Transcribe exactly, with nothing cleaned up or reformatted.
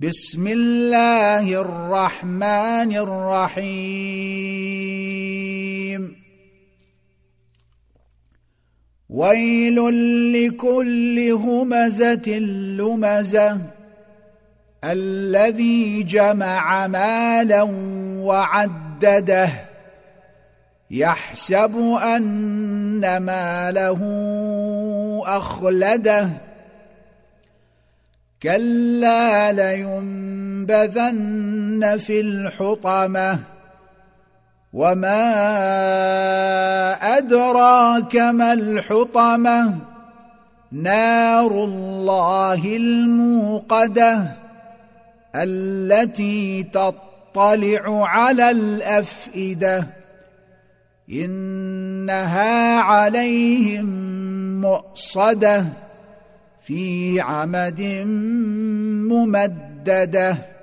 بسم الله الرحمن الرحيم ويل لكل همزة لمزة الذي جمع مالا وعدده يحسب أن ماله أخلده كلا لينبذن في الحطمة وما أدراك ما الحطمة نار الله الموقدة التي تطلع على الأفئدة إنها عليهم مؤصدة في عمد ممدده.